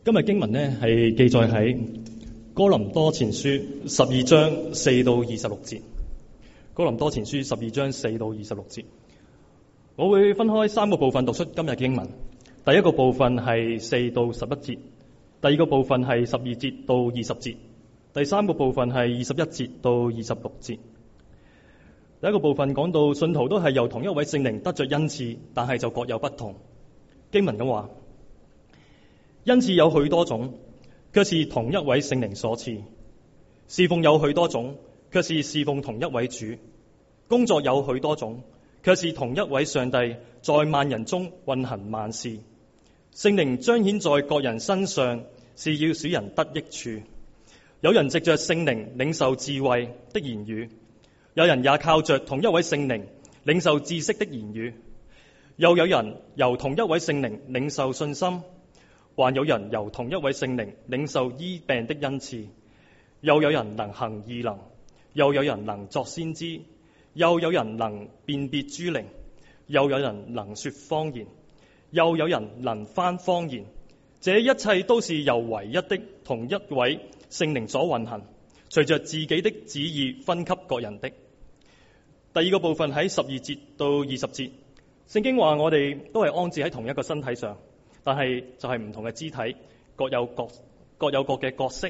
今日經文呢係記載喺哥林多前書12章4到26節。哥林多前書12章4到26節，我會分開3個部分讀出今日經文。第一個部分係4到11節，第二個部分係12節到20節，第三個部分係21節到26節。第一個部分講到信徒都係由同一位聖靈得着恩賜，但係就各有不同。經文咁話，恩賜有許多種，卻是同一位聖靈所賜；侍奉有許多種，卻是侍奉同一位主；工作有許多種，卻是同一位上帝在萬人中運行萬事。聖靈彰顯在各人身上，是要使人得益處。有人藉着聖靈領受智慧的言語，有人也靠着同一位聖靈領受知識的言語，又有人由同一位聖靈領受信心，還有人由同一位聖靈領受醫病的恩賜，又有人能行異能，又有人能作先知，又有人能辨別諸靈，又有人能說方言，又有人能翻方言。這一切都是由唯一的同一位聖靈所運行，隨着自己的旨意分給各人的。第二個部分喺12節到20節，聖經話我哋都係安置喺同一個身體上，但係就係唔同嘅肢體，各有各嘅角色。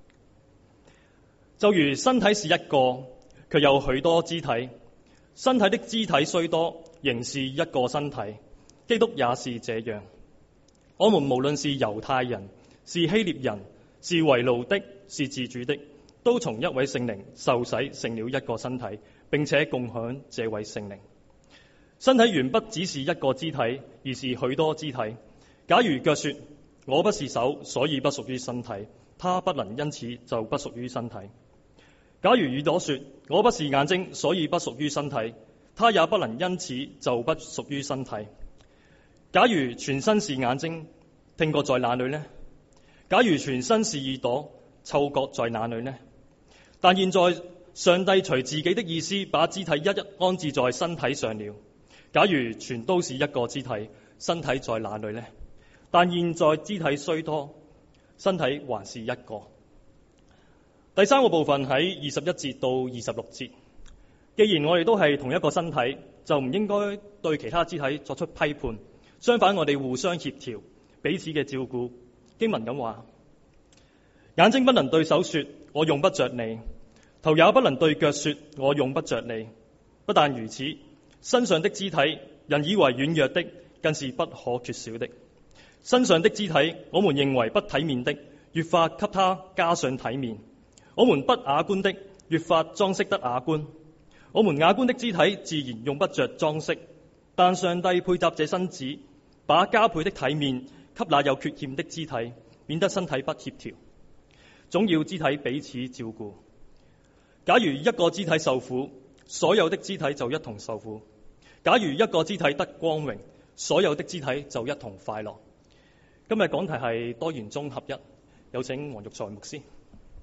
就如身體是一個，卻有許多肢體，身體的肢體雖多，仍是一個身體。基督也是這樣。我們無論是猶太人，是希臘人，是為奴的，是自主的，都從一位聖靈受洗，成了一個身體，並且共享這位聖靈。身體原不只是一個肢體，而是許多肢體。假如腳說我不是手，所以不屬於身體，它不能因此就不屬於身體。假如耳朵說我不是眼睛，所以不屬於身體，它也不能因此就不屬於身體。假如全身是眼睛，聽覺在哪裏呢？假如全身是耳朵，嗅覺在哪裏呢？但現在上帝隨自己的意思把肢體一一安置在身體上了。假如全都是一個肢體，身體在哪裏呢？但現在肢體雖多，身體還是一個。第三個部分喺21節到26節。既然我哋都係同一個身體，就唔應該對其他肢體作出批判。相反，我哋互相協調，彼此嘅照顧。經文咁話，眼睛不能對手說我用不着你，頭也不能對腳說我用不着你。不但如此，身上的肢體，人以為軟弱的，更是不可缺少的。身上的肢體，我們認為不體面的，越發給它加上體面；我們不雅觀的，越發裝飾得雅觀。我們雅觀的肢體自然用不着裝飾，但上帝配搭這身子，把加倍的體面給那有缺陷的肢體，免得身體不協調。總要肢體彼此照顧。假如一個肢體受苦，所有的肢體就一同受苦；假如一個肢體得光榮，所有的肢體就一同快樂。今日講題係多元中合一，有請黃玉財牧師。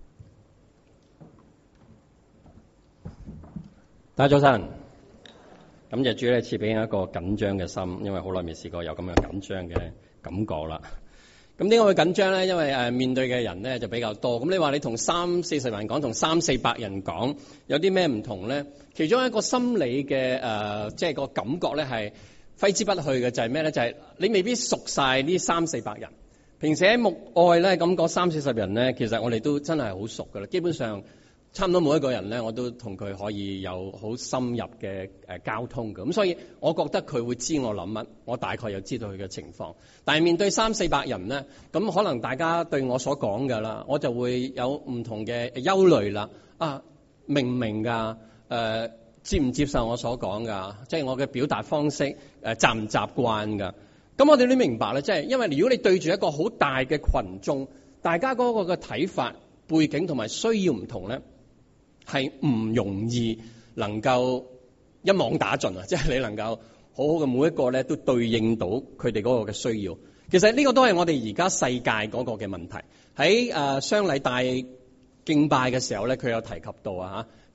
大家早晨，感謝主咧賜俾我一個緊張嘅心，因為好耐未試過有咁樣緊張嘅感覺啦。咁點解會緊張咧？因為面對嘅人咧就比較多。咁你話你同30-40人講，同300-400人講，有啲咩唔同咧？其中一個心理嘅即係個感覺咧係揮之不去嘅，就係咩咧？就係你未必熟晒呢300-400人。平時喺牧愛咧咁講30-40人咧，其實我哋都真係好熟噶啦。基本上差唔多每一個人咧，我都同佢可以有好深入嘅交通嘅。咁所以我覺得佢會知我諗乜，我大概又知道佢嘅情況。但係面對300-400人咧，咁可能大家對我所講嘅啦，我就會有唔同嘅憂慮啦。明唔明㗎？接唔接受我所講㗎？即係我嘅表達方式習唔習慣㗎？咁我哋都明白咧，即係因為如果你對住一個好大嘅群眾，大家嗰個嘅睇法、背景同埋需要唔同咧，係唔容易能夠一網打盡啊！即係你能夠好好嘅每一個咧都對應到佢哋嗰個嘅需要。其實呢個都係我哋而家世界嗰個嘅問題。喺雙禮大敬拜嘅時候咧，佢有提及到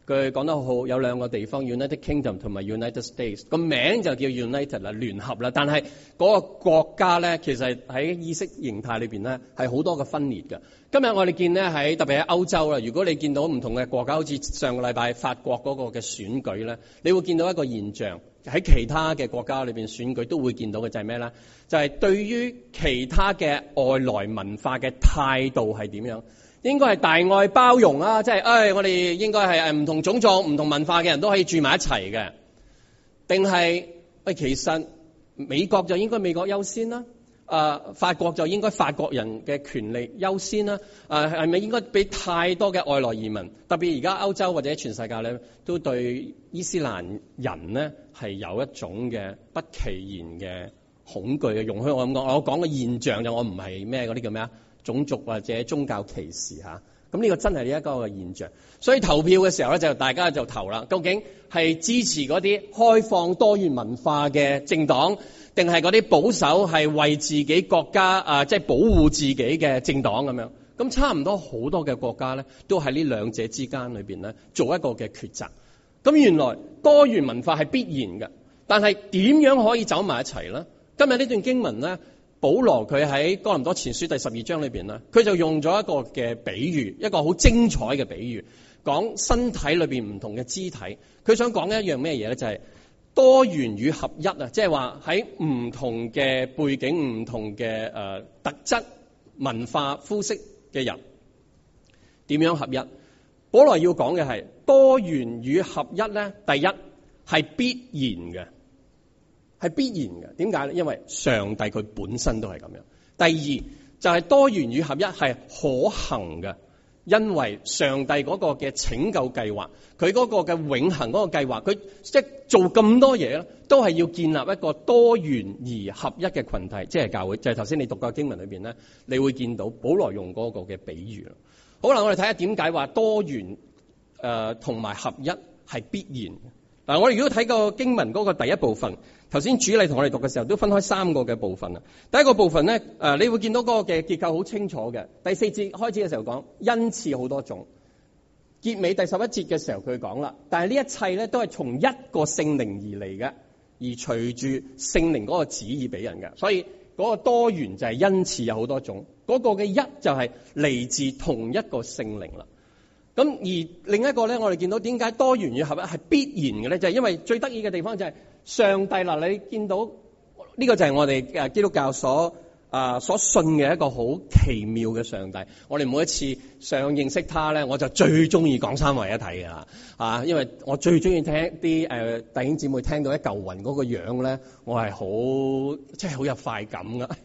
佢講得好，有兩個地方 United Kingdom 同埋 United States 個名就叫 United 啦，聯合啦。但係嗰個國家咧，其實喺意識形態裏邊咧係好多個分裂嘅。今日我哋見咧喺特別喺歐洲啦，如果你見到唔同嘅國家，好似上個禮拜法國嗰個嘅選舉咧，你會見到一個現象，喺其他嘅國家裏邊選舉都會見到嘅就係咩咧？就係對於其他嘅外來文化嘅態度係點樣？應該係大愛包容啦，即係我哋應該係唔同種族、唔同文化嘅人都可以住埋一齊嘅，定係其實美國就應該美國優先啦，法國就應該法國人嘅權利優先啦，係咪應該俾太多嘅外來移民？特別而家歐洲或者全世界咧，都對伊斯蘭人咧係有一種嘅不其然嘅恐懼嘅。容許我咁講，我講嘅現象就我唔係咩嗰啲叫咩啊？種族或者宗教歧視嚇，咁呢個真係呢一個嘅現象。所以投票嘅時候咧，就大家就投啦。究竟係支持嗰啲開放多元文化嘅政黨，定係嗰啲保守係為自己國家即係保護自己嘅政黨咁樣？咁差唔多好多嘅國家咧，都喺呢兩者之間裏邊咧做一個嘅抉擇。咁原來多元文化係必然嘅，但係點樣可以走埋一齊咧？今日呢段經文咧，保羅佢喺哥林多前書第12章裏邊咧，佢就用咗一個嘅比喻，一個好精彩嘅比喻，講身體裏邊唔同嘅肢體。佢想講一樣咩嘢咧？就係多元與合一啊！即係話喺唔同嘅背景、唔同嘅特質、文化、膚色嘅人點樣合一？保羅要講嘅係多元與合一咧，第一係必然嘅。係必然嘅，點解咧？因為上帝佢本身都係咁樣。第二就係多元與合一係可行嘅，因為上帝嗰個嘅拯救計劃，佢嗰個嘅永恆嗰個計劃，佢即係做咁多嘢咧，都係要建立一個多元而合一嘅群體，即係教會。就係頭先你讀過經文裏邊咧，你會見到保羅用嗰個嘅比喻啦。好啦，我哋睇下點解話多元同埋合一係必然嘅。嗱，我哋如果睇個經文嗰個第一部分，頭先主禮同我哋讀嘅時候都分開三個嘅部分啊。第一個部分咧，你會見到嗰個嘅結構好清楚嘅。第4節開始嘅時候講恩賜好多種，結尾第11節嘅時候佢講啦，但係呢一切咧都係從一個聖靈而嚟嘅，而隨住聖靈嗰個旨意俾人嘅。所以嗰個多元就係恩賜有好多種，嗰個嘅一就係嚟自同一個聖靈啦。咁而另一個咧，我哋見到點解多元與合一係必然嘅咧？就係因為最得意嘅地方就係上帝啦。你見到呢個就係我哋基督教所信嘅一個好奇妙嘅上帝。我哋每一次想認識他咧，我就最中意講三位一體嘅啦，因為我最中意聽啲弟兄姊妹聽到一嚿雲嗰個樣咧，我係好即係好有快感噶。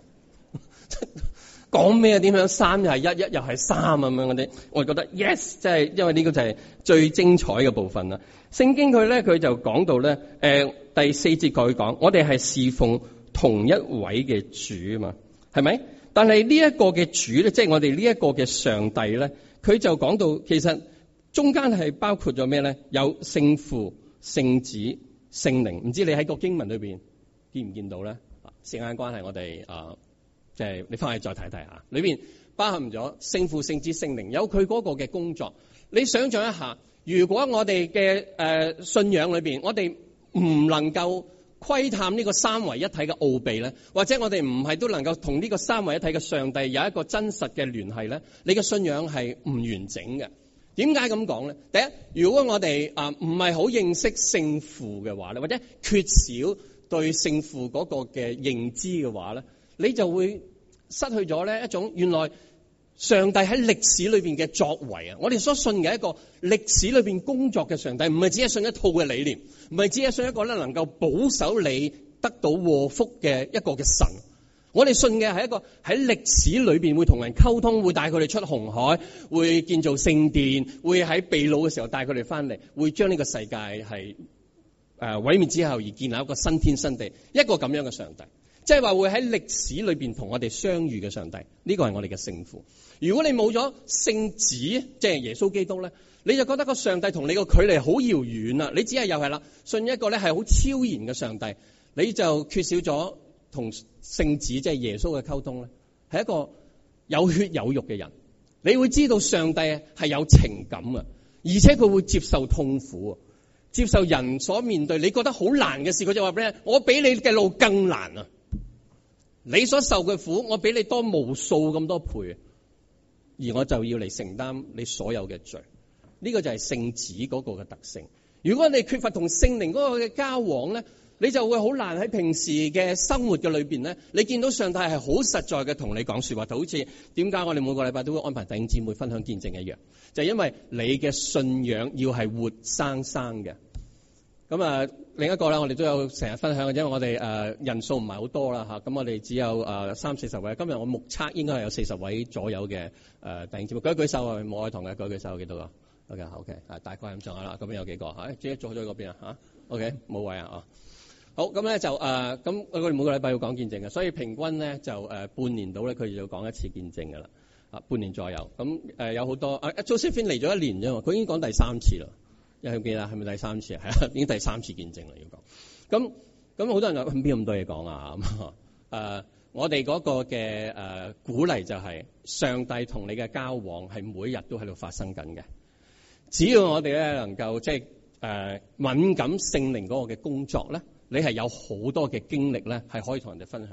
講咩？點樣三又係一，一又係三咁樣嗰啲，我覺得 yes， 即係因為呢個就係最精彩嘅部分啦。聖經佢就講到咧，第4節佢講，我哋係侍奉同一位嘅主啊嘛，係咪？但係呢一個嘅主咧，即係我哋呢一個嘅上帝咧，佢就講到其實中間係包括咗咩咧？有聖父、聖子、聖靈。唔知你喺個經文裏邊見唔見到咧？時間關係，我哋即係你翻去再睇睇下，裏邊包含咗聖父、聖子、聖靈，有佢嗰個嘅工作。你想象一下，如果我哋嘅信仰裏邊，我哋唔能夠窺探呢個三位一體嘅奧秘咧，或者我哋唔係都能夠同呢個三位一體嘅上帝有一個真實嘅聯繫咧，你嘅信仰係唔完整嘅。點解咁講咧？第一，如果我哋唔係好認識聖父嘅話咧，或者缺少對聖父嗰個嘅認知嘅話咧，你就會失去咗咧一種原來上帝喺歷史裏邊嘅作為啊！我哋所信嘅一個歷史裏邊工作嘅上帝，唔係只係信一套嘅理念，唔係只係信一個咧能夠保守你得到禍福嘅一個嘅神。我哋信嘅係一個喺歷史裏邊會同人溝通，會帶佢哋出紅海，會建造聖殿，會喺被擄嘅時候帶佢哋翻嚟，會將呢個世界係毀滅之後而建立一個新天新地，一個咁樣嘅上帝。即係話會喺歷史裏邊同我哋相遇嘅上帝，呢個係我哋嘅聖父。如果你冇咗聖子，即係耶穌基督咧，你就覺得個上帝同你個距離好遙遠啦。你只係又係啦，信一個咧係好超然嘅上帝，你就缺少咗同聖子即係耶穌嘅溝通咧，係一個有血有肉嘅人。你會知道上帝係有情感啊， 而且佢會接受痛苦，接受人所面對你覺得好難嘅事，佢就話俾你聽，我比你嘅路更難啊！你所受嘅苦，我比你多無數咁多倍，而我就要嚟承擔你所有嘅罪。呢個就係聖子嗰個嘅特性。如果你缺乏同聖靈嗰個嘅交往咧，你就會好難喺平時嘅生活嘅裏邊咧，你見到上帝係好實在嘅同你講說話，就好似點解我哋每個禮拜都會安排弟兄姊妹分享見證一樣，就係因為你嘅信仰要係活生生嘅。咁啊，另一個咧，我哋都有成日分享嘅，因為我哋人數唔係好多啦嚇，咁我哋只有30-40位。今日我目測應該係有40位左右嘅弟兄姊妹。舉一舉手啊，冇愛堂嘅舉一舉手，幾多個？OK，大概咁上下啦。咁邊有幾個？係自己坐咗嗰邊啊嚇。OK， 冇位啊。好，咁咧就咁我哋每個禮拜要講見證嘅，所以平均咧就半年到咧，佢就要講一次見證㗎啦。半年左右。咁有好多Josephine 嚟咗1年啫嘛，佢已經講第3次啦。有冇記得係咪第3次？係啊，已經第3次見證啦，要講。咁好多人話邊咁多嘢講啊？我哋嗰個嘅鼓勵就係上帝同你嘅交往係每日都喺度發生緊嘅。只要我哋咧能夠即係敏感聖靈嗰個嘅工作咧，你係有好多嘅經歷咧係可以同人哋分享。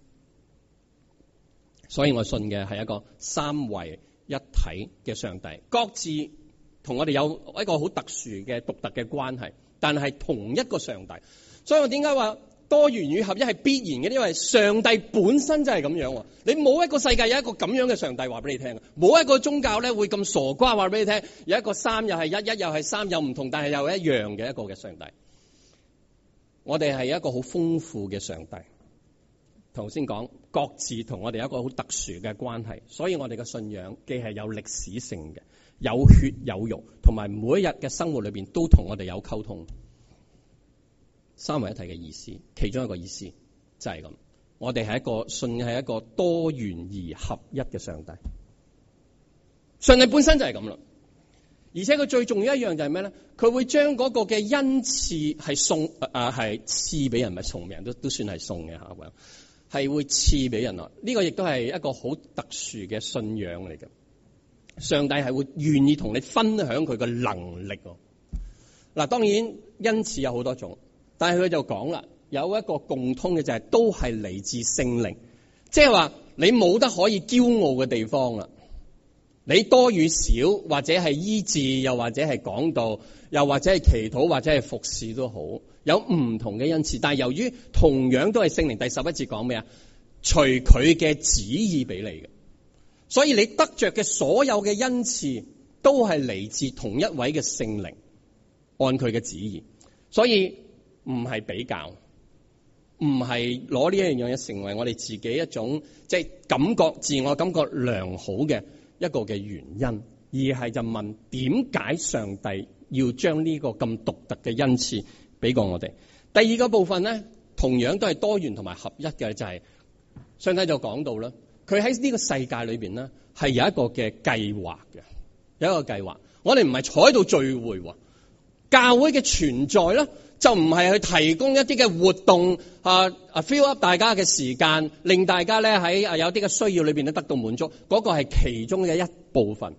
所以我信嘅係一個三位一體嘅上帝，各自同我哋有一個好特殊嘅獨特嘅關係，但係同一個上帝。所以我點解話多元與合一係必然嘅？因為上帝本身就係咁樣。你冇一個世界有一個咁樣嘅上帝話俾你聽，冇一個宗教咧會咁傻瓜話俾你聽，有一個三又係一，一又係三，又唔同但係又一樣嘅一個嘅上帝。我哋係一個好豐富嘅上帝。頭先講各自同我哋有一個好特殊嘅關係，所以我哋嘅信仰既係有歷史性嘅，有血有肉，同埋每一日嘅生活裏邊都同我哋有溝通。三位一體嘅意思，其中一個意思就係咁。我哋係一個信係一個多元而合一嘅上帝。上帝本身就係咁啦，而且佢最重要一樣就係咩咧？佢會將嗰個嘅恩賜係送係賜俾人，咪送人都算係送嘅嚇，係會賜俾人啦。呢個亦都係一個好特殊嘅信仰嚟嘅。上帝係會願意同你分享佢嘅能力。嗱，當然恩賜有好多種，但係佢就講啦，有一個共通嘅就係都係嚟自聖靈，即係話你冇得可以驕傲嘅地方啦。你多與少，或者係醫治，又或者係講道，又或者係祈禱，或者係服侍都好，有唔同嘅恩賜。但係由於同樣都係聖靈，第11節講咩啊？隨佢嘅旨意俾你嘅。所以你得着嘅所有嘅恩賜都係嚟自同一位嘅聖靈，按佢嘅旨意。所以唔係比較，唔係攞呢一樣嘢成為我哋自己一種即係感覺自我感覺良好嘅一個嘅原因，而係就問點解上帝要將呢個咁獨特嘅恩賜俾過我哋？第二個部分咧，同樣都係多元同埋合一嘅，就係上帝就講到啦。佢喺呢個世界裏邊咧，係有一個嘅計劃嘅，有一個計劃。我哋唔係坐喺度聚會，教會嘅存在咧，就唔係去提供一啲嘅活動fill up 大家嘅時間，令大家咧喺有啲嘅需要裏邊咧得到滿足。嗰個係其中嘅一部分。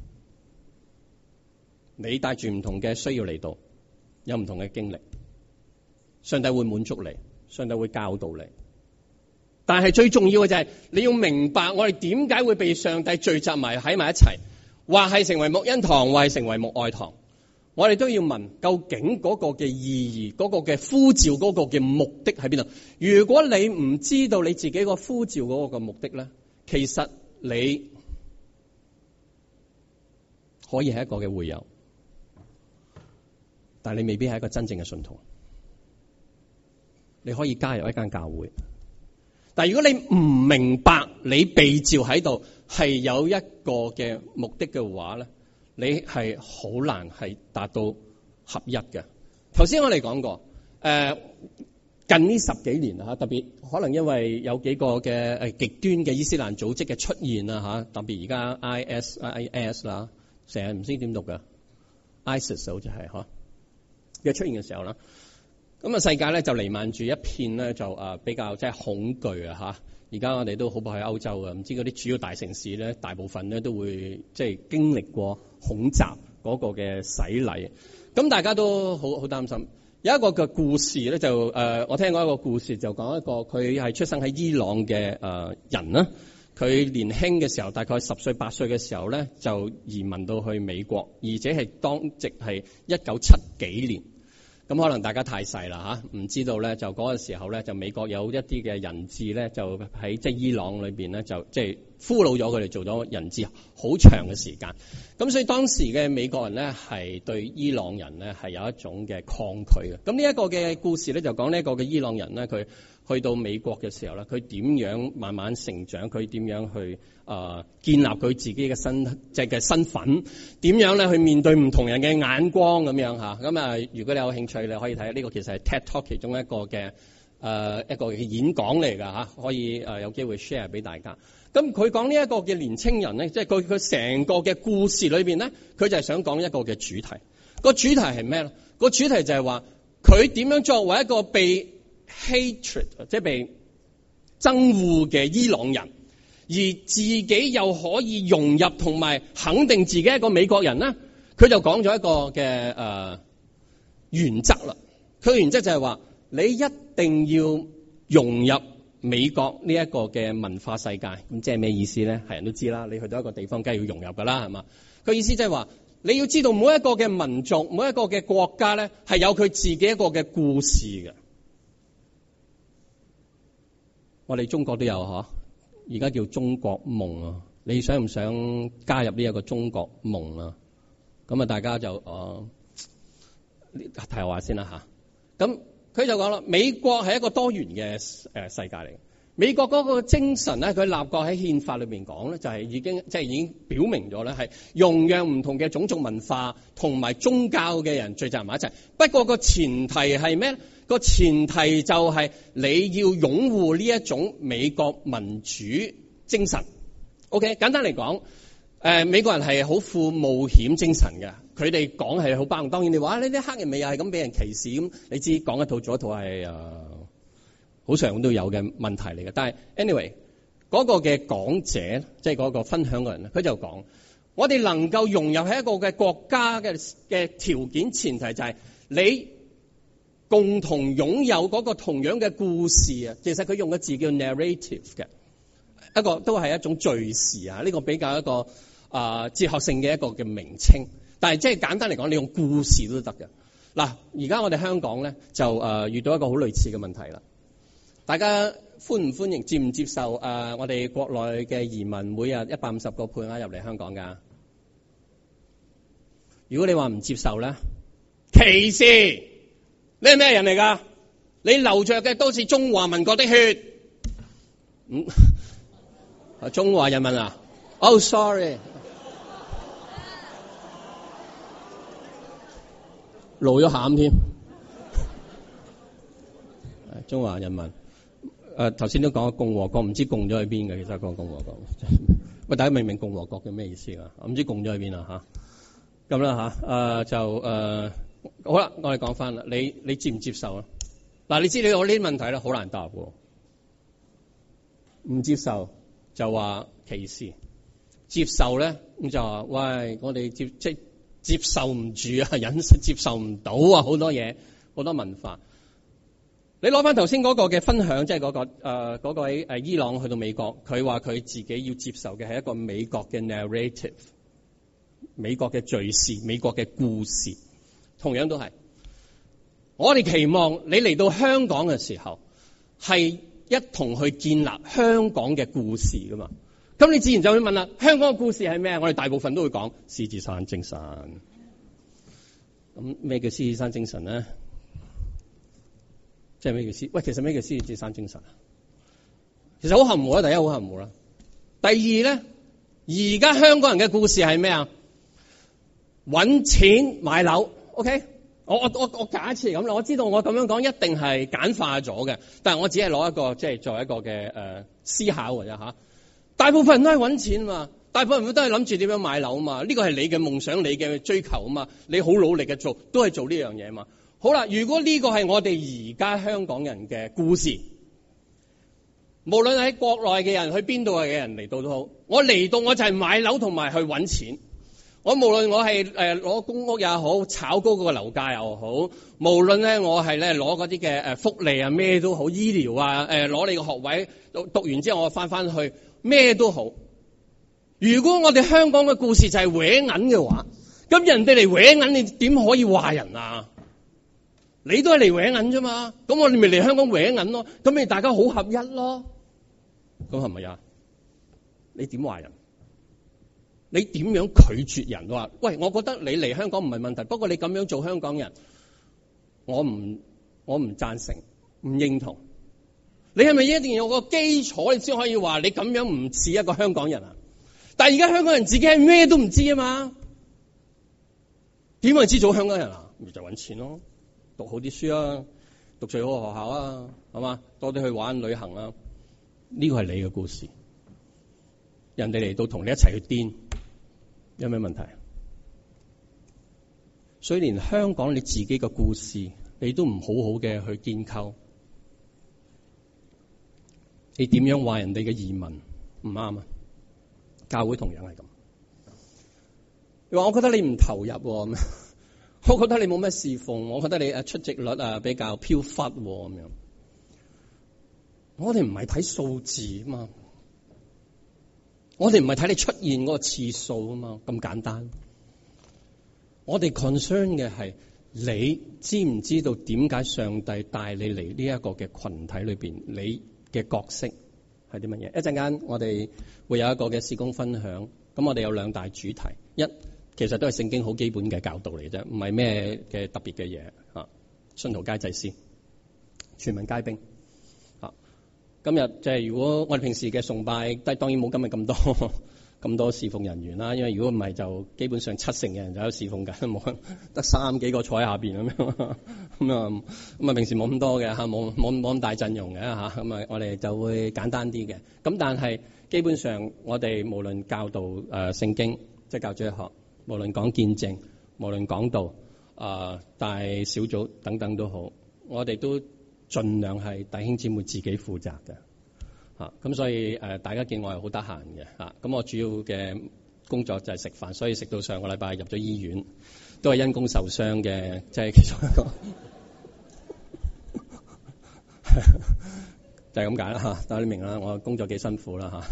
你帶住唔同嘅需要嚟到，有唔同嘅經歷，上帝會滿足你，上帝會教導你。但係最重要嘅就係你要明白，我哋點解會被上帝聚集埋喺埋一齊，或係成為牧恩堂，或係成為牧愛堂。我哋都要問，究竟嗰個嘅意義，嗰個嘅呼召，嗰個嘅目的喺邊度？如果你唔知道你自己個呼召嗰個嘅目的咧，其實你可以係一個嘅會友，但係你未必係一個真正嘅信徒。你可以加入一間教會，但係如果你唔明白你被召喺度係有一個嘅目的嘅話咧，你係好難係達到合一嘅。頭先我哋講過，近呢10幾年特別可能因為有幾個嘅極端嘅伊斯蘭組織嘅出現特別而家 IS 啦，成日唔知點讀嘅 ISIS 好似係嘅出現嘅時候啦。咁世界咧就瀰漫住一片咧就比較即係恐懼而家我哋都好怕喺歐洲嘅，唔知嗰啲主要大城市咧，大部分咧都會即係經歷過恐襲嗰個嘅洗禮。咁大家都好擔心。有一個嘅故事咧，就我聽過一個故事，就講一個佢係出生喺伊朗嘅人啦。佢年輕嘅時候，大概10歲8歲嘅時候咧，就移民到去美國，而且係當值係1970幾年。咁可能大家太細啦嚇，唔知道咧，就嗰個時候咧，就美國有一啲嘅人質咧，就喺即係伊朗裏邊咧，就即係俘虜咗佢哋，做咗人質好長嘅時間。咁所以當時嘅美國人咧，係對伊朗人咧係有一種嘅抗拒嘅。咁呢一個嘅故事咧，就講呢一個嘅伊朗人咧，佢去到美國嘅時候咧，佢點樣慢慢成長，佢點樣去建立佢自己嘅身份，點樣咧去面對唔同人嘅眼光咁樣嚇。咁如果你有興趣，你可以睇呢個其實係 TED Talk 其中一個嘅一個演講嚟㗎嚇，可以有機會 share 俾大家。咁佢講呢一個嘅年青人咧，即係佢成個嘅故事裏邊咧，佢就係想講一個嘅主題。個主題係咩咧？個主題就係話佢點樣作為一個被 hatred 即係被憎惡嘅伊朗人，而自己又可以融入同埋肯定自己一個美國人咧，佢就講咗一個嘅原則啦。佢嘅原則就係話你一定要融入美國呢一個嘅文化世界。咁即係咩意思咧？係人都知啦，你去到一個地方梗係要融入噶啦，係嘛？佢意思即係話你要知道每一個嘅民族，每一個嘅國家咧，係有佢自己一個嘅故事嘅。我哋中國都有嗬，而家叫中國夢啊！你想唔想加入呢一個中國夢啊？咁啊，大家就提下話先啦吓。咁佢就講啦，美國係一個多元嘅世界嚟嘅。美國嗰個精神咧，佢立國喺憲法裏邊講咧，就係已經表明咗咧，係容讓唔同嘅種族文化同埋宗教嘅人聚集埋一齊。不過個前提係咩咧？個前提就係你要擁護呢一種美國民主精神。OK， 簡單嚟講，美國人係好富冒險精神嘅，佢哋講係好包容。當然你話呢啲黑人咪又係咁俾人歧視咁，你知講一套做一套係好常都有嘅問題嚟嘅。但係 anyway 嗰個嘅講者，即係嗰個分享嘅人咧，佢就講我哋能夠融入喺一個嘅國家嘅條件前提就係你共同擁有嗰個同樣嘅故事啊。其實佢用嘅字叫 narrative 嘅，一個都係一種敘事啊。呢個比較一個哲學性嘅一個嘅名稱，但係即係簡單嚟講，你用故事都得嘅。嗱，而家我哋香港咧就遇到一個好類似嘅問題啦。大家歡唔歡迎接唔接受我哋國內嘅移民每日150個配額入嚟香港㗎？如果你話唔接受咧，歧視，你係咩人嚟㗎？你流着嘅都是中華民國的血。中華人民啊？Oh sorry， 露咗餡添。中華人民。頭先都講共和國，唔知共咗去邊嘅。其實講共和國，喂，大家明唔明共和國嘅咩意思啊？唔知共咗去邊啦吓。咁啦吓，好啦，我哋講翻啦。你接唔接受啊？嗱，你知你我呢啲問題咧，好難答喎。唔接受就話歧視，接受咧咁就話喂，我哋接受唔住啊，忍接受唔到啊，好多嘢，好多文化。你攞翻頭先嗰個嘅分享，即係嗰個位伊朗去到美國，佢話佢自己要接受嘅係一個美國嘅 narrative， 美國嘅敘事，美國嘅故事，同樣都係。我哋期望你嚟到香港嘅時候，係一同去建立香港嘅故事噶嘛。咁你自然就會問啦，香港嘅故事係咩？我哋大部分都會講獅子山精神。咁咩叫獅子山精神咧？即係咩叫喂，其實咩叫獅子山精神啊？其實好含糊啦，第一好含糊啦。第二咧，而家香港人嘅故事係咩啊？搵錢買樓。OK， 我假設咁啦，我知道我咁樣講一定係簡化咗嘅，但係我只係攞一個即係作為一個嘅思考嘅啫吓。大部分人都係搵錢嘛，大部分人都係諗住點樣買樓嘛。呢個係你嘅夢想，你嘅追求啊嘛。你好努力嘅做，都係做呢樣嘢嘛。好啦，如果呢個係我哋而家香港人嘅故事，無論喺國內嘅人去邊度嘅人嚟到都好，我嚟到我就係買樓同埋去搵錢。 我無論我係攞公屋也好，炒高個樓價又好，無論咧我係咧攞嗰啲嘅福利啊咩都好，醫療啊攞你個學位讀完之後我翻去咩都好。如果我哋香港嘅故事就係搲銀嘅話，咁人哋嚟搲銀，你點可以話人啊？你都係嚟搲銀啫嘛，咁我哋咪嚟香港搲銀咯，咁咪大家好合一咯。咁係咪啊？你點話人？你點樣拒絕人？話喂，我覺得你嚟香港唔係問題，不過你咁樣做香港人，我唔贊成，唔認同。你係咪一定要有個基礎，你先可以話你咁樣唔似一個香港人啊？但係而家香港人自己係咩都唔知啊嘛，點會知做香港人啊？咪就揾錢咯，讀好啲書啊，讀最好嘅學校啊，係嘛？多啲去玩旅行啊，呢個係你嘅故事。人哋嚟到同你一齊去癲，有咩問題？所以連香港你自己嘅故事，你都唔好好嘅去建構，你點樣話人哋嘅移民唔啱啊？教會同樣係咁。你話我覺得你唔投入，我覺得你冇咩侍奉，我覺得你出席率比較飄忽咁樣。我哋唔係睇數字啊嘛，我哋唔係睇你出現嗰個次數啊嘛，咁簡單。我哋 concern 嘅係你知唔知道點解上帝帶你嚟呢一個嘅群體裏邊，你嘅角色係啲乜嘢？一陣間我哋會有一個嘅事工分享，咁我哋有兩大主題，一其實都係聖經好基本嘅教導嚟啫，唔係咩嘅特別嘅嘢嚇。信徒皆祭司，全民皆兵嚇。今日即係如果我哋平時嘅崇拜，當然冇今日咁多侍奉人員啦，因為如果唔係就基本上70%嘅人就喺度侍奉緊，冇得3幾個坐喺下邊咁樣咁啊平時冇咁多嘅嚇，冇咁大陣容嘅嚇，咁啊我哋就會簡單啲嘅。咁但係基本上我哋無論教導聖經，即係教主日學，無論講見證，無論講道大小組等等都好，我哋都盡量係弟兄姊妹自己負責嘅。咁所以大家見我係好得閒嘅咁我主要嘅工作就係食飯，所以食到上個禮拜入咗醫院，都係因公受傷嘅，即係其中一個就係咁解啦嚇。大家都明啦，我工作幾辛苦啦嚇。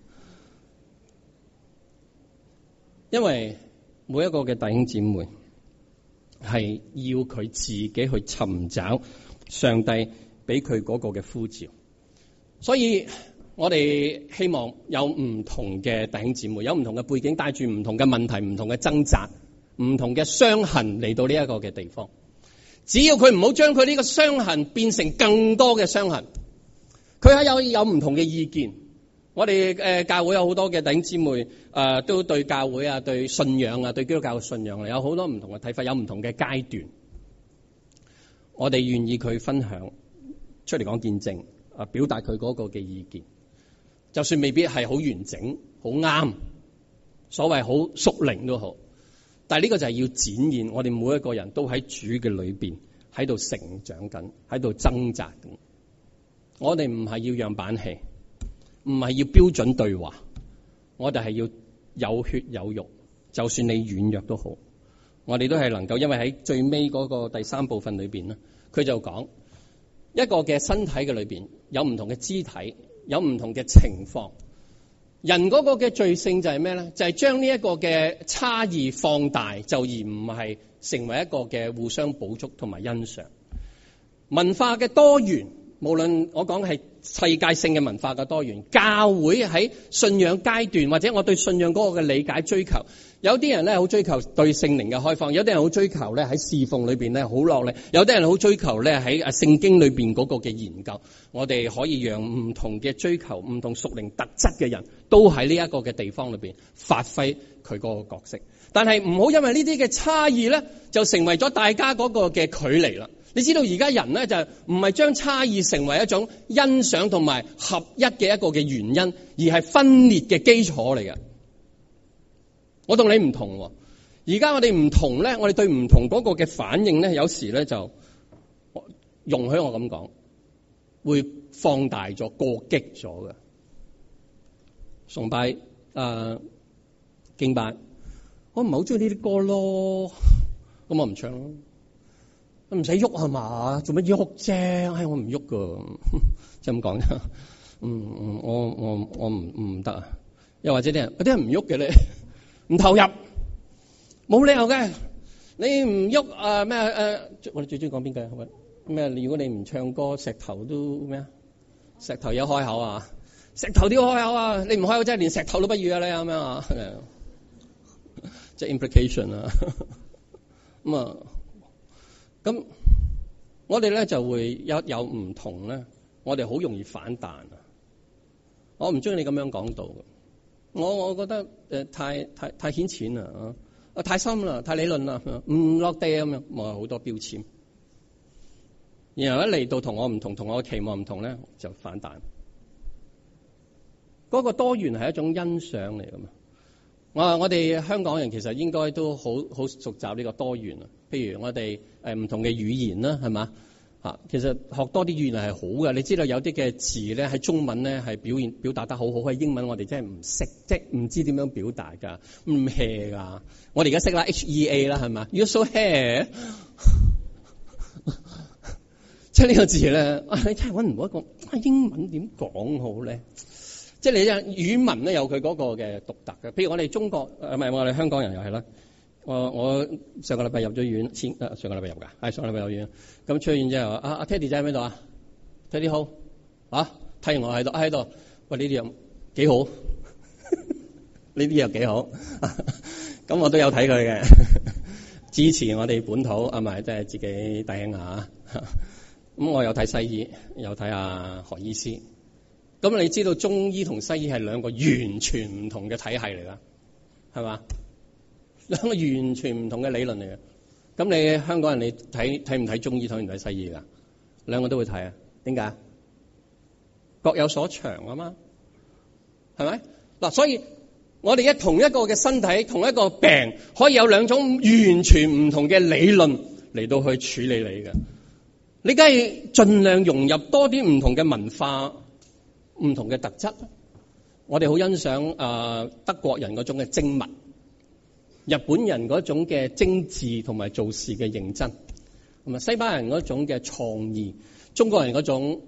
因為每一個嘅弟兄姊妹係要佢自己去尋找上帝俾佢嗰個嘅呼召。所以我哋希望有唔同嘅弟兄姊妹，有唔同嘅背景，帶住唔同嘅問題、唔同嘅掙扎、唔同嘅傷痕嚟到呢一個嘅地方。只要佢唔好將佢呢個傷痕變成更多嘅傷痕，佢係有唔同嘅意見。我哋教會有好多嘅弟兄姊妹都對教會啊、對信仰啊、對基督教嘅信仰有好多唔同嘅睇法，有唔同嘅階段。我哋願意佢分享出嚟講見證。表達佢嗰個嘅意見，就算未必係好完整、好啱，所謂好屬靈都好，但係呢個就係要展現我哋每一個人都喺主嘅裏邊喺度成長緊，喺度掙扎緊。我哋唔係要樣板戲，唔係要標準對話，我哋係要有血有肉，就算你軟弱都好，我哋都係能夠，因為喺最尾嗰個第3部分裏邊咧，佢就講。一個嘅身體嘅裏邊有唔同嘅肢體，有唔同嘅情況。人嗰個嘅罪性就係咩咧？就係將呢一個嘅差異放大，就而唔係成為一個嘅互相補足同埋欣賞。文化嘅多元，無論我講係世界性嘅文化嘅多元，教會喺信仰階段或者我對信仰嗰個嘅理解追求。有啲人咧好追求對聖靈嘅開放，有啲人好追求咧喺侍奉裏邊咧好落力，有啲人好追求咧喺聖經裏邊嗰個嘅研究。我哋可以讓唔同嘅追求、唔同屬靈特質嘅人都喺呢一個嘅地方裏邊發揮佢嗰個角色。但係唔好因為呢啲嘅差異咧，就成為咗大家嗰個嘅距離啦。你知道而家人咧就唔係將差異成為一種欣賞同埋合一嘅一個嘅原因，而係分裂嘅基礎嚟嘅。我同你唔同，而家我哋唔同咧，我哋對唔同嗰個嘅反應咧，有時咧就容許我咁講，會放大咗、過激咗嘅崇拜、敬拜， 我唔係好中意呢啲歌咯，咁我唔唱咯。唔使喐係嘛？做乜喐啫？唉，我唔喐噶，即係咁講啫。我唔得啊。又或者啲人有啲人唔喐嘅咧，唔投入，冇理由嘅。你唔喐啊咩？我哋最中意講邊句咩？如果你唔唱歌，石頭都咩啊？石頭有開口啊！石頭都要開口啊！你唔開口真係連石頭都不如啊！你咁樣啊？即係 implication 啊。咁我哋咧就會有唔同咧，我哋好容易反彈啊！我唔中意你咁樣講到嘅，我覺得太顯淺啦，太深啦，太理論啦，唔落地咁樣，我好多標籤。然後一嚟到同我唔同，同我嘅期望唔同咧，就反彈。嗰個多元係一種欣賞嚟噶嘛？我哋香港人其實應該都好熟習呢個多元啊。譬如我哋唔同嘅語言啦，係嘛嚇？其實學多啲語言係好嘅。你知道有啲嘅字咧喺中文咧係表達得好好，喺英文我哋真係唔識，即係唔知點樣表達㗎，唔 hea 㗎。我哋而家識啦 HEA 啦，係嘛 ？You're so hea 即係呢個字咧，你真係揾唔到一個英文點講好咧？即係你語文咧有佢嗰個嘅獨特嘅。譬如我哋中國唔係我哋香港人又係啦。我上個禮拜入咗院，上個禮拜入㗎，係上個禮拜入院。咁出院之後，阿 Teddy 仔喺邊度啊 ？Teddy 好啊，睇完我喺度。喂，呢啲又幾好，呢啲又幾好。咁我都有睇佢嘅，支持我哋本土啊，咪即係自己弟兄啊。咁我有睇西醫，有睇阿何醫師。咁你知道中醫同西醫係兩個完全唔同嘅體系嚟㗎，係嘛？兩個完全唔同嘅理論嚟嘅。咁你香港人你睇唔睇中醫，睇唔睇西醫㗎？兩個都會睇啊？點解？各有所長啊嘛，係咪？嗱，所以我哋同一個嘅身體，同一個病，可以有兩種完全唔同嘅理論嚟到去處理你嘅。你梗係盡量融入多啲唔同嘅文化、唔同嘅特質。我哋好欣賞德國人嗰種嘅精密，日本人嗰種嘅精緻同埋做事嘅認真，同埋西班牙人嗰種嘅創意，中國人嗰種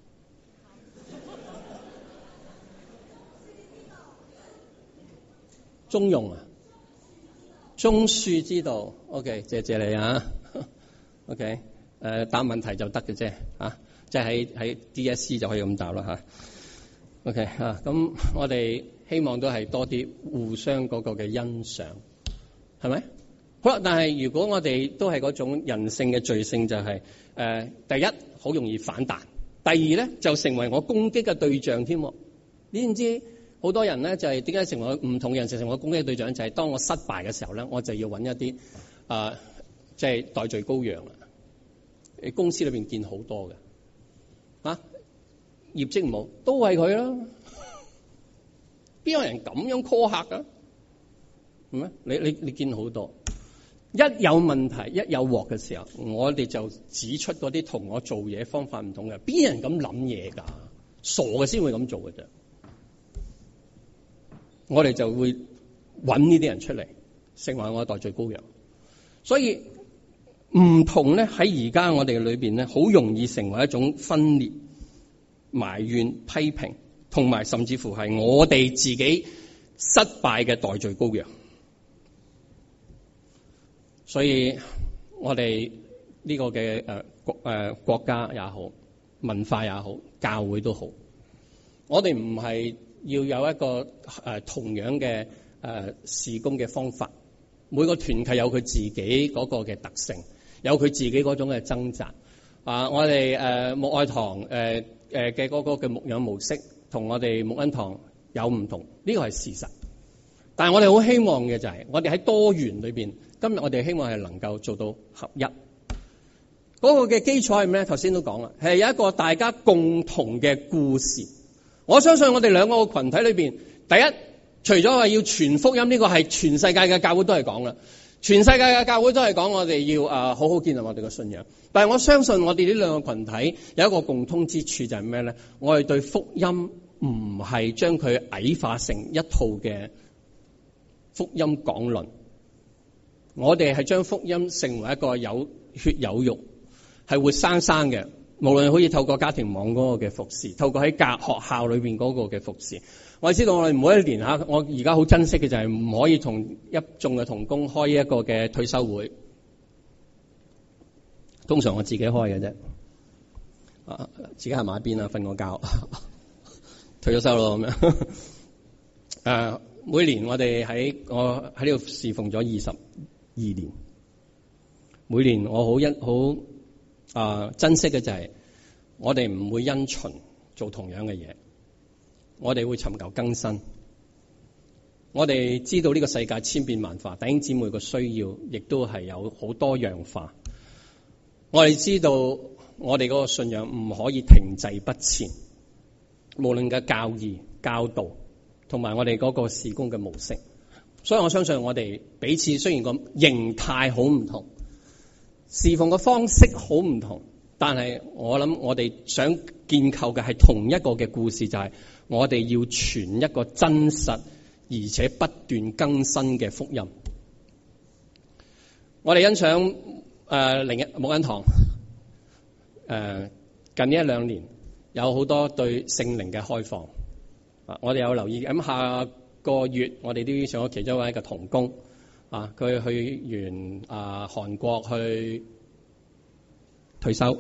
中庸啊，中恕之道。OK， 謝你啊。OK， 答問題就得嘅啫，即係喺 DSE 就可以咁答啦嚇。OK 咁我哋希望都係多啲互相嗰個嘅欣賞，係咪？好啦，但係如果我哋都係嗰種人性嘅罪性，就係第一好容易反彈，第二咧就成為我攻擊嘅對象添。你知唔知好多人咧就係點解成為唔同嘅人成為我攻擊嘅對象？就係當我失敗嘅時候咧，我就要揾一啲即係代罪羔羊啦。你公司裏邊見好多嘅業績唔好，都係佢啦。邊有人咁樣 call 客噶？係咩？你見好多，一有問題，一有鑊嘅時候，我哋就指出嗰啲同我做嘢方法唔同嘅。邊有人咁諗嘢㗎？傻嘅先會咁做嘅啫。我哋就會揾呢啲人出嚟，成為我嘅代罪羔羊。所以唔同咧喺而家我哋裏邊咧，好容易成為一種分裂、埋怨、批評，同埋甚至乎係我哋自己失敗嘅代罪羔羊。所以我哋呢個嘅國家也好，文化也好，教會都好，我哋唔係要有一個同樣嘅事工嘅方法。每個團契有佢自己嗰個嘅特性，有佢自己嗰種嘅掙扎。我哋牧愛堂嘅嗰個嘅牧養模式同我哋牧恩堂有唔同，呢個係事實。但係我哋好希望嘅就係我哋喺多元裏邊，今日我哋希望係能夠做到合一。嗰個嘅基礎係咩？頭先都講啦，係有一個大家共同嘅故事。我相信我哋兩個群體裏邊，第一，除咗話要傳福音，呢個係全世界嘅教會都係講啦。全世界嘅教會都係講我哋要好好建立我哋嘅信仰。但係我相信我哋呢兩個群體有一個共通之處，就係咩咧？我哋對福音唔係將佢矮化成一套嘅福音講論， 我哋係將福音成為一個有血有肉，係活生生嘅。無論可以透過家庭網嗰個嘅服侍，透過喺學校裏邊嗰個嘅服侍，我哋知道我哋每一年吓，我而家好珍惜嘅就係唔可以同一眾嘅同工開一個嘅退休會，通常我自己開嘅啫，自己係埋一邊啊，瞓個覺，退咗休咯咁樣。每年我哋我喺呢度侍奉咗22年，每年我好珍惜嘅就係我哋唔會因循做同樣嘅嘢，我哋會尋求更新。我哋知道呢個世界千變萬化，弟兄姊妹嘅需要亦都係有好多樣化。我哋知道我哋嗰個信仰唔可以停滯不前，無論嘅教義、教導同埋我哋嗰個事工嘅模式。所以我相信我哋彼此雖然個形態好唔同，侍奉嘅方式好唔同，但係我諗我哋想建構嘅係同一個嘅故事，就係我哋要傳一個真實而且不斷更新嘅福音。我哋欣賞牧恩堂近呢1-2年有好多對聖靈嘅開放。我哋有留意，咁下個月我哋都上咗其中一位嘅同工佢去完韓國去退休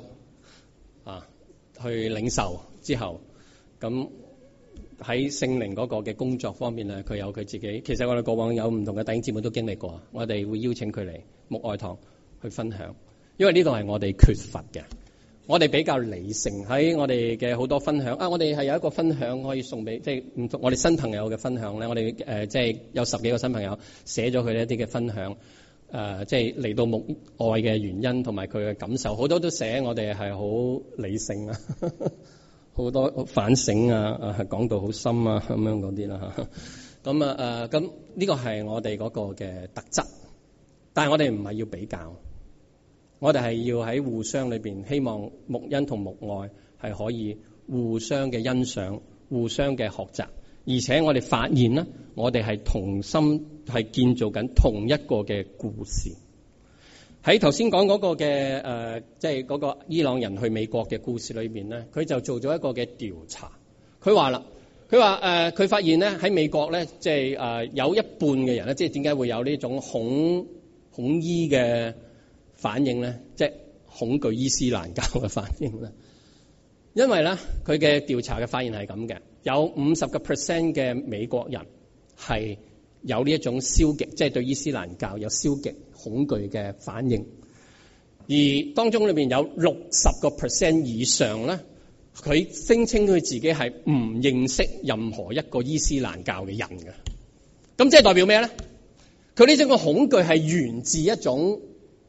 去領受之後，咁喺聖靈嗰個嘅工作方面咧，佢有佢自己。其實我哋過往有唔同嘅弟兄姊妹都經歷過，我哋會邀請佢嚟牧愛堂去分享，因為呢度係我哋缺乏嘅。我哋比較理性，喺我哋嘅好多分享我哋係有一個分享可以送俾即係唔同我哋新朋友嘅分享咧。我哋即係有10幾個新朋友寫咗佢一啲嘅分享，即係嚟到牧愛嘅原因同埋佢嘅感受，好多都寫我哋係好理性啊，好多反省係講到好深咁樣嗰啲啦嚇。咁呢個係我哋嗰個嘅特質，但係我哋唔係要比較。我哋係要喺互相裏邊，希望牧恩同牧愛係可以互相嘅欣賞、互相嘅學習，而且我哋發現呢，我哋係同心係建造緊同一個嘅故事。喺頭先講嗰個嘅即係嗰個伊朗人去美國嘅故事裏邊呢，佢就做咗一個嘅調查。佢話啦，佢發現呢喺美國呢，即係有一半嘅人呢，即係點解會有呢種恐伊嘅反應咧，即係恐懼伊斯蘭教嘅反應咧。因為咧，佢嘅調查嘅發現係咁嘅，有50% 嘅美國人係有呢一種消極，即係對伊斯蘭教有消極恐懼嘅反應。而當中裏邊有60% 以上咧，佢聲稱佢自己係唔認識任何一個伊斯蘭教嘅人嘅。咁即係代表咩咧？佢呢種嘅恐懼係源自一種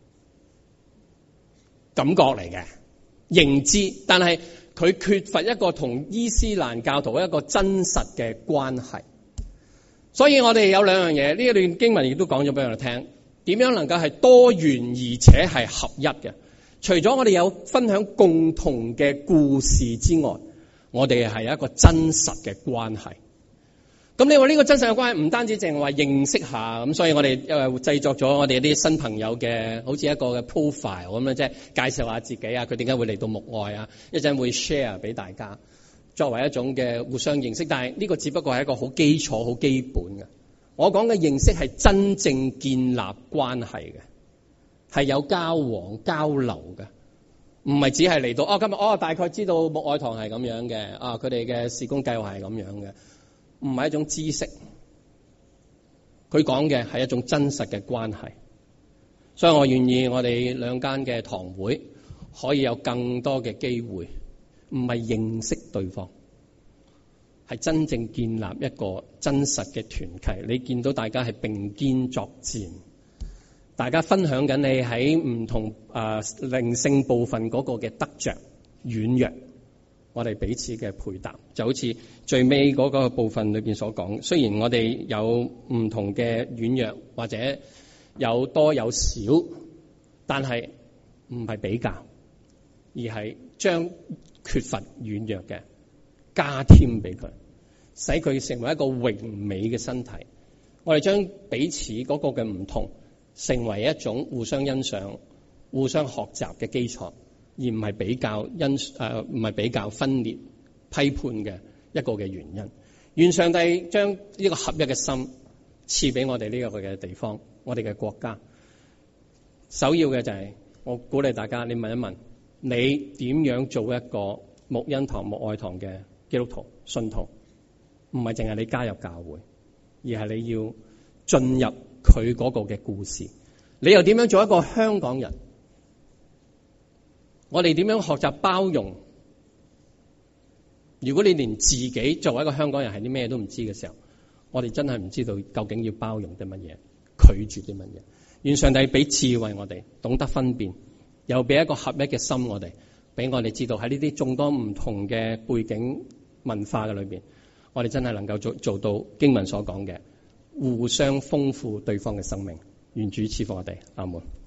感覺嚟嘅認知，但係佢缺乏一個同伊斯蘭教徒一個真實嘅關係。所以我哋有兩樣嘢，呢一段經文亦都講咗俾我哋聽，點樣能夠係多元而且係合一嘅。除咗我哋有分享共同嘅故事之外，我哋係有一個真實嘅關係。咁你話呢個真實嘅關係唔單止淨係話認識下，咁所以我哋製作咗我哋啲新朋友嘅好似一個嘅 profile 咁樣，即係介紹下自己佢點解會嚟到牧愛一陣會 share 俾大家，作為一種嘅互相認識。但係呢個只不過係一個好基礎、好基本嘅。我講嘅認識係真正建立關係嘅，係有交往交流嘅，唔係只係嚟到今日大概知道牧愛堂係咁樣嘅，佢哋嘅事工計劃係咁樣嘅。唔係一種知識，佢講嘅係一種真實嘅關係。所以我願意我哋兩間嘅堂會可以有更多嘅機會，唔係認識對方，係真正建立一個真實嘅團契。你見到大家係並肩作戰，大家分享緊你喺唔同靈性部分嗰個嘅得着軟弱，我哋彼此嘅配搭，就好似最尾嗰個部分裏邊所講。雖然我哋有唔同嘅軟弱，或者有多有少，但係唔係比較，而係將缺乏軟弱嘅加添俾佢，使佢成為一個榮美嘅身體。我哋將彼此嗰個嘅唔同， 成為一種互相欣賞、互相學習嘅基礎，而唔係比較唔係比較分裂、批判嘅一個嘅原因。願上帝將呢個合一嘅心賜俾我哋呢個嘅地方，我哋嘅國家。首要嘅就係我鼓勵大家，你問一問，你點樣做一個牧恩堂、牧愛堂嘅基督徒信徒？唔係淨係你加入教會，而係你要進入佢嗰個嘅故事。你又點樣做一個香港人？我哋點樣學習包容？如果你連自己作為一個香港人係啲咩都唔知嘅時候，我哋真係唔知道究竟要包容啲乜嘢，拒絕啲乜嘢。願上帝俾智慧我哋，懂得分辨，又俾一個合一嘅心我哋，俾我哋知道喺呢啲眾多唔同嘅背景文化嘅裏邊，我哋真係能夠做到經文所講嘅，互相豐富對方嘅生命。願主賜福我哋，阿門。